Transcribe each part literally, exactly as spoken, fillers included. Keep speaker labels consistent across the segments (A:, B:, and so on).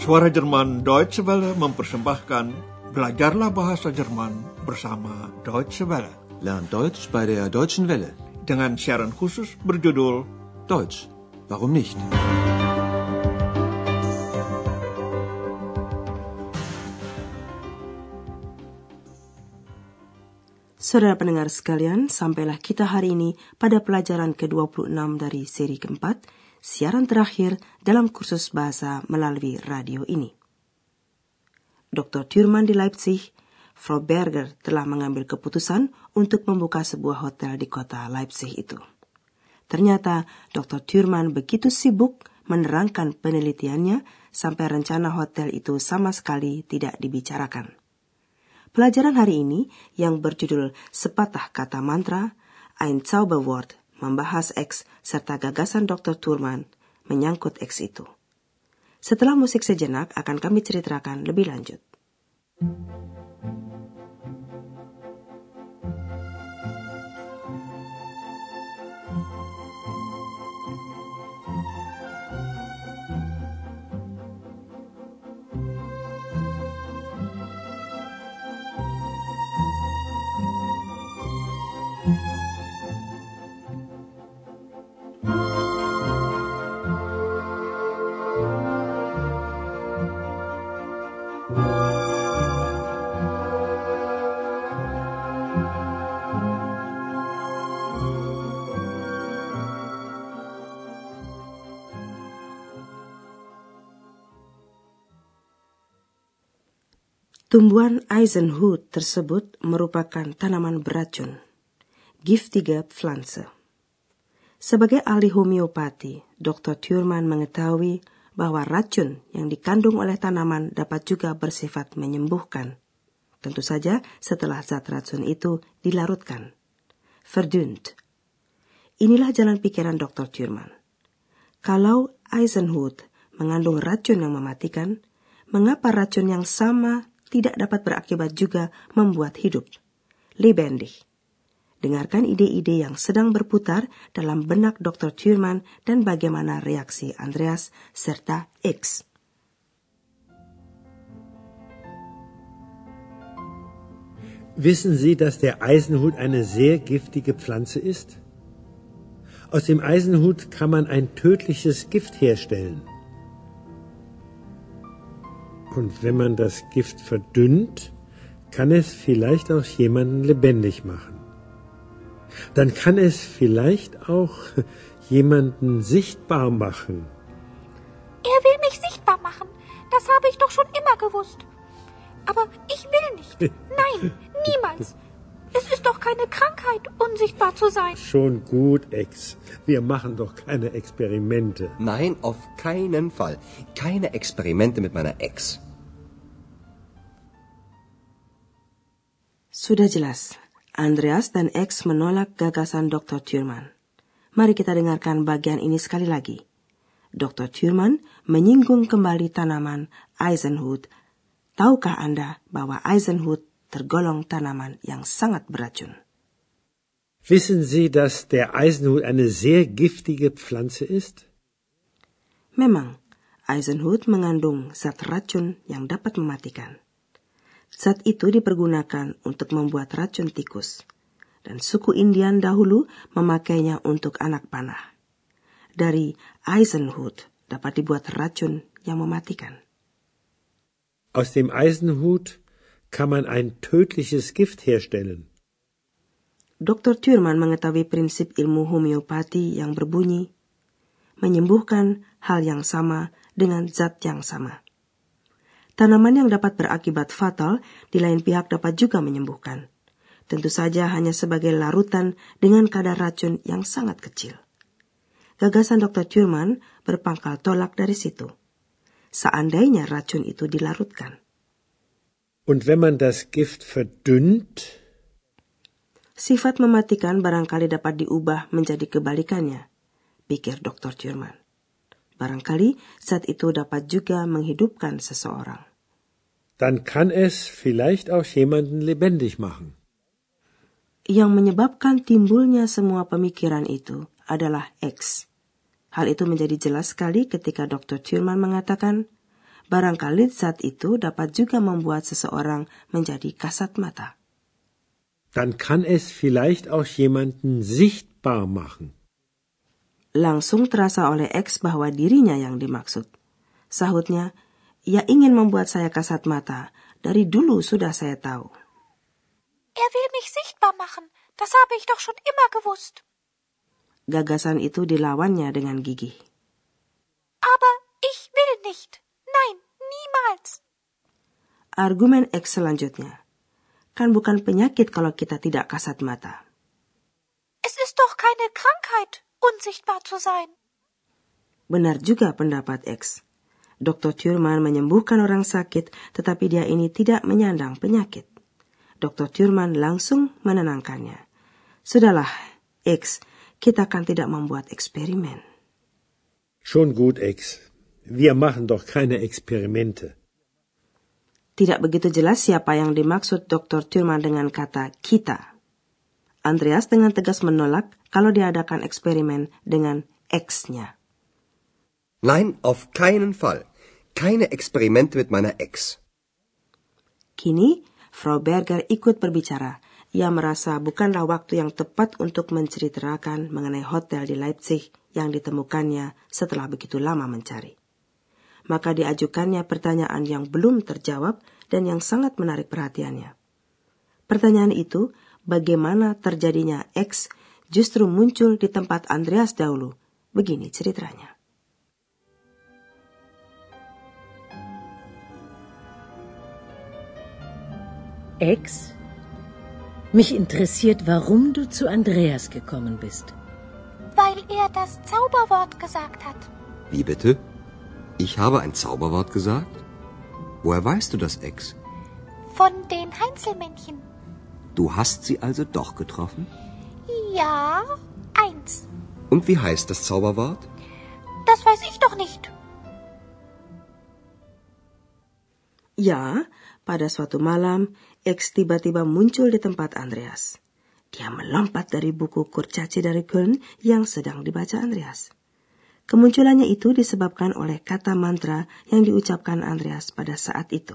A: Suara Jerman Deutsche Welle mempersembahkan Belajarlah Bahasa Jerman bersama Deutsche Welle.
B: Lern Deutsch bei der Deutschen Welle.
A: Dengan siaran khusus berjudul
B: Deutsch, warum nicht?
C: Saudara pendengar sekalian, sampailah kita hari ini pada pelajaran ke dua puluh enam dari seri keempat, siaran terakhir dalam kursus bahasa melalui radio ini. doktor Thurman di Leipzig, Frau Berger telah mengambil keputusan untuk membuka sebuah hotel di kota Leipzig itu. Ternyata doktor Thurman begitu sibuk menerangkan penelitiannya sampai rencana hotel itu sama sekali tidak dibicarakan. Pelajaran hari ini yang berjudul Sepatah Kata Mantra, Ein Zauberwort, membahas X serta gagasan doktor Thurman menyangkut X itu. Setelah musik sejenak akan kami ceritakan lebih lanjut. Tumbuhan Eisenhut tersebut merupakan tanaman beracun, giftige Pflanze. Sebagai ahli homeopati, doktor Thurman mengetahui bahwa racun yang dikandung oleh tanaman dapat juga bersifat menyembuhkan. Tentu saja setelah zat racun itu dilarutkan. Verdünnt. Inilah jalan pikiran doktor Thurman. Kalau Eisenhut mengandung racun yang mematikan, mengapa racun yang sama tidak dapat berakibat juga membuat hidup? Lebendig. Dengarkan ide-ide yang sedang berputar dalam benak doktor Thurman dan bagaimana reaksi Andreas serta X.
D: Wissen Sie, dass der Eisenhut eine sehr giftige Pflanze ist? Aus dem Eisenhut kann man ein tödliches Gift herstellen. Und wenn man das Gift verdünnt, kann es vielleicht auch jemanden lebendig machen. Dann kann es vielleicht auch jemanden sichtbar machen.
E: Er will mich sichtbar machen. Das habe ich doch schon immer gewusst. Aber ich will nicht. Nein, niemals. Es ist doch keine Krankheit, unsichtbar zu sein.
D: Schon gut, Ex. Wir machen doch keine Experimente.
F: Nein, auf keinen Fall. Keine Experimente mit meiner Ex.
C: Sudah jelas, Andreas dan X menolak gagasan doktor Thurman. Mari kita dengarkan bagian ini sekali lagi. doktor Thurman menyinggung kembali tanaman Eisenhut. Tahukah Anda bahwa Eisenhut tergolong tanaman yang sangat beracun?
D: Wissen Sie, dass der Eisenhut eine sehr giftige Pflanze ist?
C: Memang, Eisenhut mengandung zat racun yang dapat mematikan. Zat itu dipergunakan untuk membuat racun tikus, dan suku Indian dahulu memakainya untuk anak panah. Dari Eisenhut dapat dibuat racun yang mematikan.
D: Aus dem Eisenhut kann man ein tödliches Gift herstellen.
C: doktor Thurman mengetahui prinsip ilmu homeopati yang berbunyi, menyembuhkan hal yang sama dengan zat yang sama. Tanaman yang dapat berakibat fatal di lain pihak dapat juga menyembuhkan. Tentu saja hanya sebagai larutan dengan kadar racun yang sangat kecil. Gagasan doktor Thurman berpangkal tolak dari situ. Seandainya racun itu dilarutkan.
D: Und wenn man das Gift verdünnt?
C: Sifat mematikan barangkali dapat diubah menjadi kebalikannya, pikir doktor Thurman. Barangkali zat itu dapat juga menghidupkan seseorang.
D: Dann kann es vielleicht auch jemanden lebendig machen.
C: Yang menyebabkan timbulnya semua pemikiran itu adalah X. Hal itu menjadi jelas sekali ketika doktor Thurman mengatakan barangkali zat itu dapat juga membuat seseorang menjadi kasat mata.
D: Dann kann es vielleicht auch jemanden sichtbar machen.
C: Langsung terasa oleh X bahwa dirinya yang dimaksud. Sahutnya, ia ingin membuat saya kasat mata. Dari dulu sudah saya tahu.
E: Er will mich sichtbar machen. Das habe ich doch schon immer gewusst.
C: Gagasan itu dilawannya dengan gigih.
E: Aber ich will nicht. Nein, niemals.
C: Argumen X selanjutnya. Kan bukan penyakit kalau kita tidak kasat mata.
E: Es ist doch keine Krankheit, unsichtbar zu sein.
C: Benar juga pendapat X. Doktor Thurman menyembuhkan orang sakit, tetapi dia ini tidak menyandang penyakit. Doktor Thurman langsung menenangkannya. Sudahlah, X, kita kan tidak membuat eksperimen.
D: Schon gut, X. Wir machen doch keine Experimente.
C: Tidak begitu jelas siapa yang dimaksud Doktor Thurman dengan kata kita. Andreas dengan tegas menolak kalau diadakan eksperimen dengan X-nya.
F: Nein, auf keinen Fall. Keine Experimente mit meiner Ex.
C: Kini, Frau Berger ikut berbicara. Ia merasa bukanlah waktu yang tepat untuk menceritakan mengenai hotel di Leipzig yang ditemukannya setelah begitu lama mencari. Maka diajukannya pertanyaan yang belum terjawab dan yang sangat menarik perhatiannya. Pertanyaan itu, bagaimana terjadinya X justru muncul di tempat Andreas dahulu. Begini ceritanya.
G: X, mich interessiert, warum du zu Andreas gekommen bist.
E: Weil er das Zauberwort gesagt hat.
F: Wie bitte? Ich habe ein Zauberwort gesagt? Woher weißt du das, Ex?
E: Von den Heinzelmännchen.
F: Du hast sie also doch getroffen?
E: Ja, eins.
F: Und wie heißt das Zauberwort?
E: Das weiß ich doch nicht.
C: Ya, pada suatu malam, X tiba-tiba muncul di tempat Andreas. Dia melompat dari buku Kurcaci dari Köln yang sedang dibaca Andreas. Kemunculannya itu disebabkan oleh kata mantra yang diucapkan Andreas pada saat itu.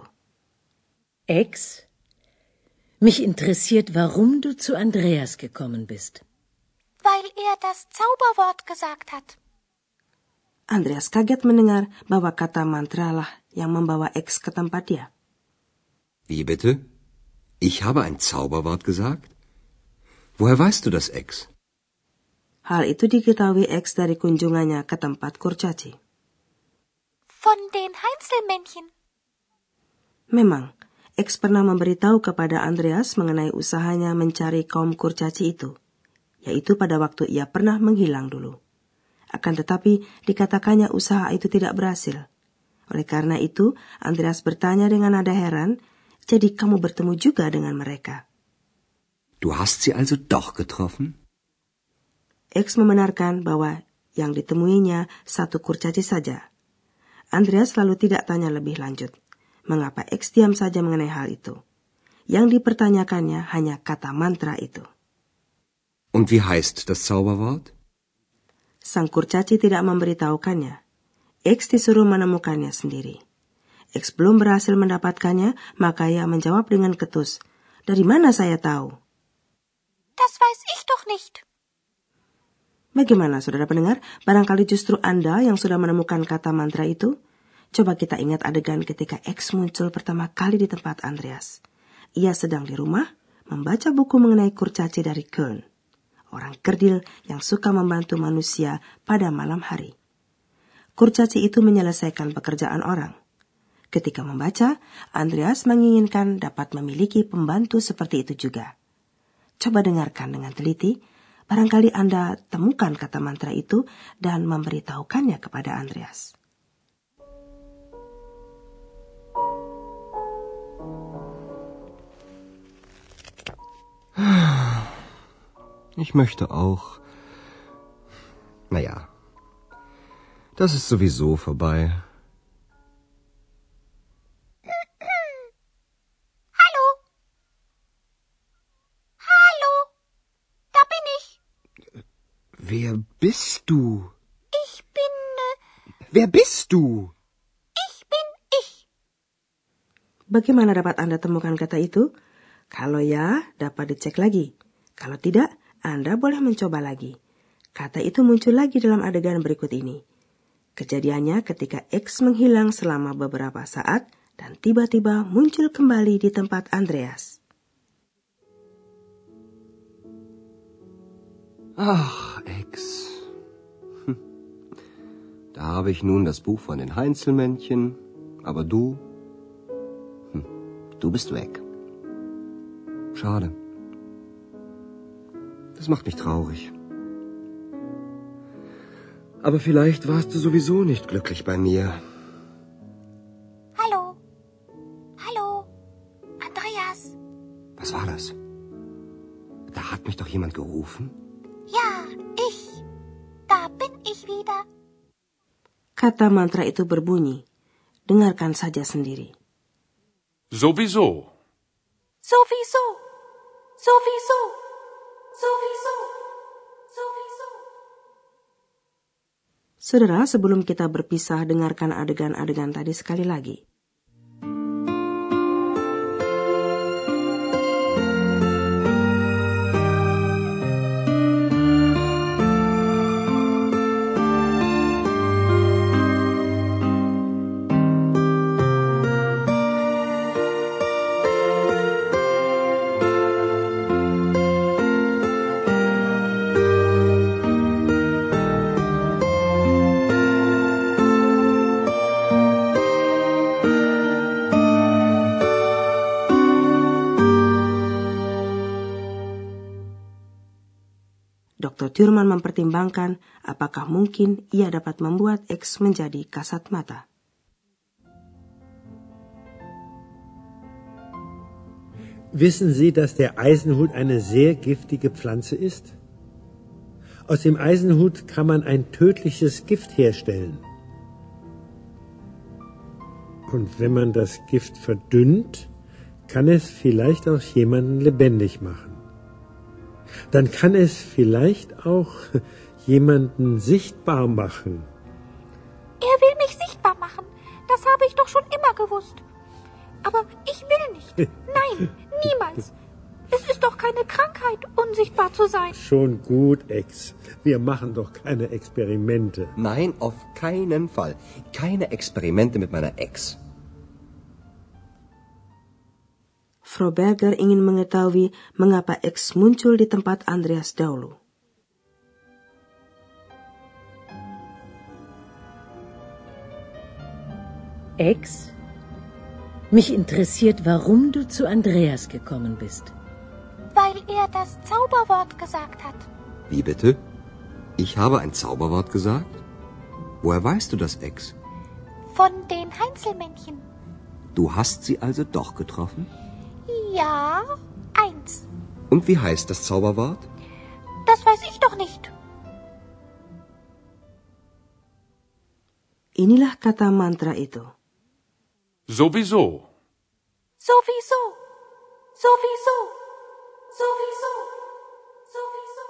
G: Ex, mich interessiert, warum du zu Andreas gekommen bist.
E: Weil er das Zauberwort gesagt hat.
C: Andreas kaget mendengar bahwa kata mantra lah yang membawa X ke tempat dia.
F: Wie bitte? Ich habe ein Zauberwort gesagt? Woher weißt du das, Ex?
C: Hal itu diketahui X dari kunjungannya ke tempat Kurcaci.
E: Von den Heinzelmännchen.
C: Memang, X pernah memberitahu kepada Andreas mengenai usahanya mencari kaum Kurcaci itu, yaitu pada waktu ia pernah menghilang dulu. Akan tetapi, dikatakannya usaha itu tidak berhasil. Oleh karena itu, Andreas bertanya dengan nada heran, jadi kamu bertemu juga dengan mereka.
F: Du hast sie also doch getroffen?
C: X membenarkan bahwa yang ditemuinya satu kurcaci saja. Andreas lalu tidak tanya lebih lanjut. Mengapa X diam saja mengenai hal itu? Yang dipertanyakannya hanya kata mantra itu.
F: Und wie heißt das Zauberwort?
C: Sang kurcaci tidak memberitahukannya. X disuruh menemukannya sendiri. X belum berhasil mendapatkannya, maka ia menjawab dengan ketus. Dari mana saya tahu?
E: Das weiß ich doch nicht.
C: Bagaimana, saudara pendengar? Barangkali justru Anda yang sudah menemukan kata mantra itu? Coba kita ingat adegan ketika X muncul pertama kali di tempat Andreas. Ia sedang di rumah, membaca buku mengenai kurcaci dari Köln. Orang kerdil yang suka membantu manusia pada malam hari. Kurcaci itu menyelesaikan pekerjaan orang. Ketika membaca, Andreas menginginkan dapat memiliki pembantu seperti itu juga. Coba dengarkan dengan teliti. Barangkali Anda temukan kata mantra itu dan memberitahukannya kepada Andreas.
F: Ich möchte auch. Naja, das ist sowieso vorbei.
E: Hallo? Hallo? Da bin ich.
F: Wer bist du?
E: Ich bin... Äh,
F: Wer bist du?
E: ich bin ich.
C: Bagaimana dapat Anda temukan kata itu? Kalau ya, dapat dicek lagi. Kalau tidak, Anda boleh mencoba lagi. Kata itu muncul lagi dalam adegan berikut ini. Kejadiannya ketika X menghilang selama beberapa saat dan tiba-tiba muncul kembali di tempat Andreas.
F: Ach, Ex. Hm. Da habe ich nun das Buch von den Heinzelmännchen, aber du, hm, du bist weg. Schade. Das macht mich traurig. Aber vielleicht warst du sowieso nicht glücklich bei mir.
E: Hallo? Hallo? Andreas?
F: Was war das? Da hat mich doch jemand gerufen.
E: Ja, ich. Da bin ich wieder.
C: Kata mantra itu berbunyi. Dengarkan saja sendiri.
H: Sowieso.
E: Sowieso. Sowieso. Sowieso. Sowieso.
C: Saudara, sebelum kita berpisah, dengarkan adegan-adegan tadi sekali lagi. dokter Thurman mempertimbangkan apakah mungkin ia dapat membuat X menjadi kasat mata.
D: Wissen Sie, dass der Eisenhut eine sehr giftige Pflanze ist? Aus dem Eisenhut kann man ein tödliches Gift herstellen. Und wenn man das Gift verdünnt, kann es vielleicht auch jemanden lebendig machen. Dann kann es vielleicht auch jemanden sichtbar machen.
E: Er will mich sichtbar machen. Das habe ich doch schon immer gewusst. Aber ich will nicht. Nein, niemals. Es ist doch keine Krankheit, unsichtbar zu sein.
D: Schon gut, Ex. Wir machen doch keine Experimente.
F: Nein, auf keinen Fall. Keine Experimente mit meiner Ex.
C: Frau Berger ingin mengetahui mengapa X muncul di tempat Andreas dahulu.
G: Ex, mich interessiert, warum du zu Andreas gekommen bist.
E: Weil er das Zauberwort gesagt hat.
F: Wie bitte? Ich habe ein Zauberwort gesagt? Woher weißt du das, Ex?
E: Von den Heinzelmännchen.
F: Du hast sie also doch getroffen?
E: Ja, eins.
F: Und wie heißt das Zauberwort?
E: Das weiß ich doch nicht.
C: Inilah kata mantra itu.
H: Sowieso.
E: Sowieso. Sowieso. Sowieso. Sowieso.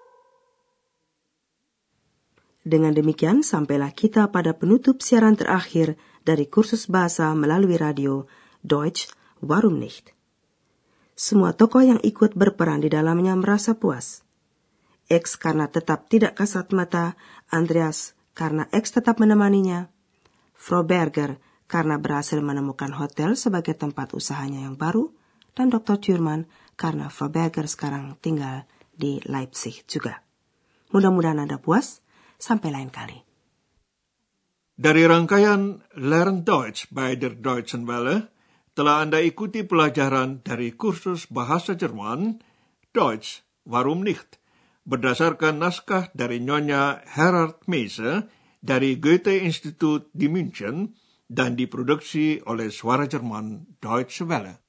C: Dengan demikian, sampailah kita pada penutup siaran terakhir dari kursus bahasa melalui radio Deutsch, warum nicht? Semua tokoh yang ikut berperan di dalamnya merasa puas. X karena tetap tidak kasat mata, Andreas karena X tetap menemaninya, Frau Berger karena berhasil menemukan hotel sebagai tempat usahanya yang baru, dan dokter Thurman karena Frau Berger sekarang tinggal di Leipzig juga. Mudah-mudahan Anda puas. Sampai lain kali.
A: Dari rangkaian Lern Deutsch bei der Deutschen Welle, telah Anda ikuti pelajaran dari kursus bahasa Jerman, Deutsch, warum nicht, berdasarkan naskah dari Nyonya Herard Meise dari Goethe-Institut di München dan diproduksi oleh Suara Jerman Deutsche Welle.